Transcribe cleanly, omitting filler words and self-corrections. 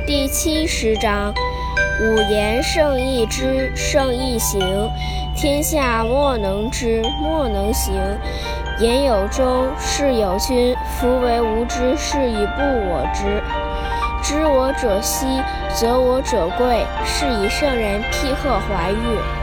第70章：五言胜义之，胜义行。天下莫能知，莫能行。言有宗，事有君。夫为无知，是以不我知。知我者希，则我者贵。是以圣人辟壑怀玉。